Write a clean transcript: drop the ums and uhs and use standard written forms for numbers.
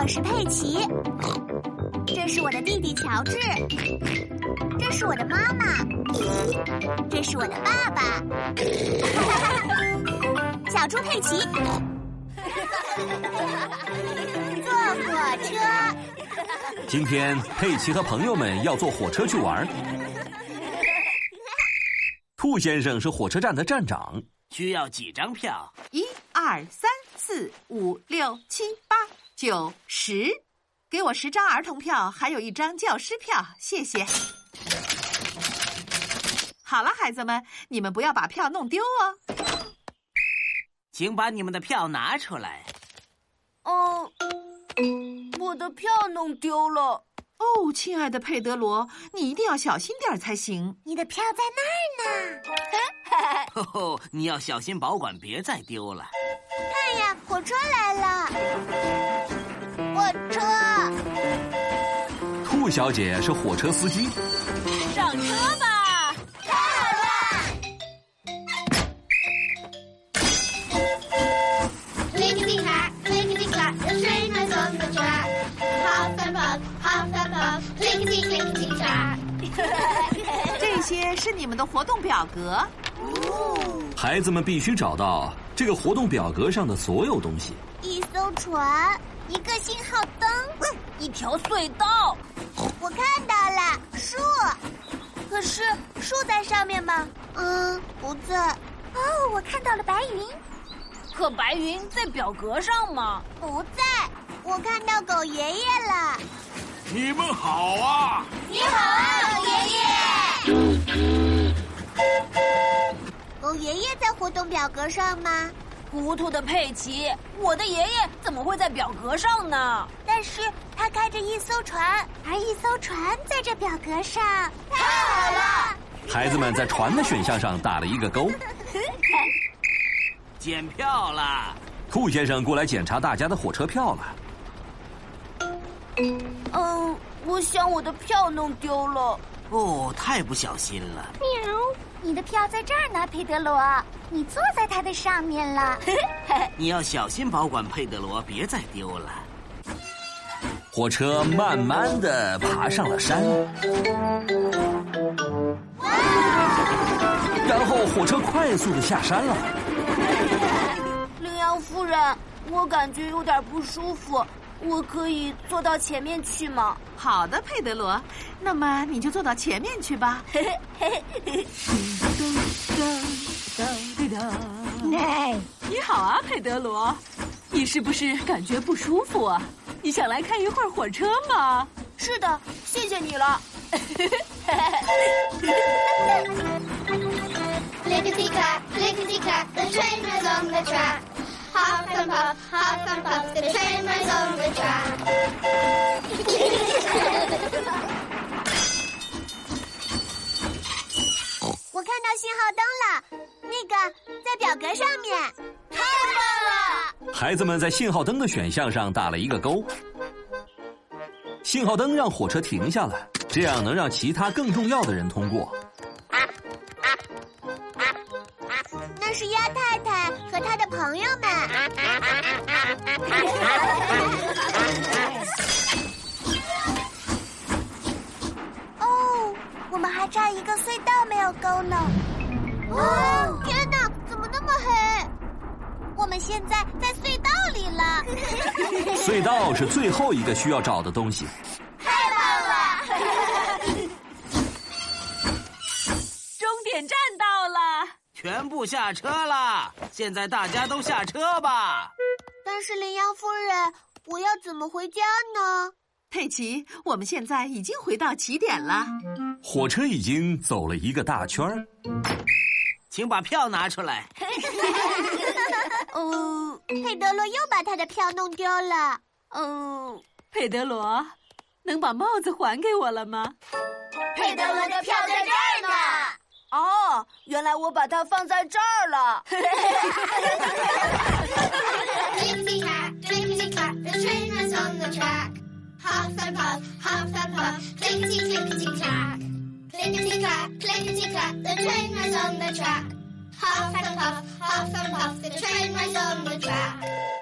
我是佩奇，这是我的弟弟乔治，这是我的妈妈，这是我的爸爸，小猪佩奇。坐火车。 今天佩奇和朋友们要坐火车去玩。兔先生是火车站的站长。 需要几张票 ？1、2、3、4、5、6、7、8、9、10，给我10张儿童票，还有1张教师票，谢谢。好了，孩子们，你们不要把票弄丢哦。 请把你们的票拿出来。 我的票弄丢了。 哦，亲爱的佩德罗，你一定要小心点才行。 你的票在那儿呢。哦，你要小心保管，别再丢了。 看呀，火车来了！火车。 兔小姐是火车司机。 上车吧！ 太好了 ！Clickety clack, clickety clack, the train has on the track. Hop and puff, hop and puff, clickety clickety clack. 这些是你们的活动表格。 孩子们必须找到这个活动表格上的所有东西。 一艘船，一个信号灯， 一条隧道。 我看到了树，可是树在上面吗？不在。哦，我看到了白云。 可白云在表格上吗？ 不在。我看到狗爷爷了。 你们好啊！ 你好啊，狗爷爷。狗爷爷在活动表格上吗？ 糊涂的佩奇，我的爷爷怎么会在表格上呢？ 但是他开着一艘船，而一艘船在这表格上。太好了！ 孩子们在船的选项上打了一个勾。 检票了。 兔先生过来检查大家的火车票了。 我想我的票弄丢了。 哦，太不小心了。 喵，你的票在这儿呢，佩德罗，你坐在它的上面了。 你要小心保管，佩德罗，别再丢了。 火车慢慢地爬上了山，然后火车快速地下山了。 羚羊夫人，我感觉有点不舒服，我可以坐到前面去吗？ 好的，佩德罗，那么你就坐到前面去吧。你好啊，佩德罗，你是不是感觉不舒服啊？你想来看一会儿火车吗？ 是的，谢谢你了。 Clickety clack, clickety clack, the train is on the track. Hop and puff, hop and puff, the train is on the track. 我看到信号灯了，那个在表格上面。太棒了！ 孩子们在信号灯的选项上打了一个勾。信号灯让火车停下了，这样能让其他更重要的人通过。 那是鸭太太和她的朋友们。哦，我们还差一个隧道没有勾呢。哦，天哪，怎么那么黑？我们现在在隧道里了。 隧道是最后一个需要找的东西。 太棒了！ 终点站到了。 全部下车了，现在大家都下车吧。 但是羚羊夫人，我要怎么回家呢？ 佩奇，我们现在已经回到起点了。 火车已经走了一个大圈儿。 请把票拿出来。 佩德罗又把他的票弄丢了。 佩德罗，能把帽子还给我了吗？ 佩德罗的票在这儿呢。 哦，原来我把它放在这儿了。 Clickety clack, clickety clack, the train is on the track. Hop and puff,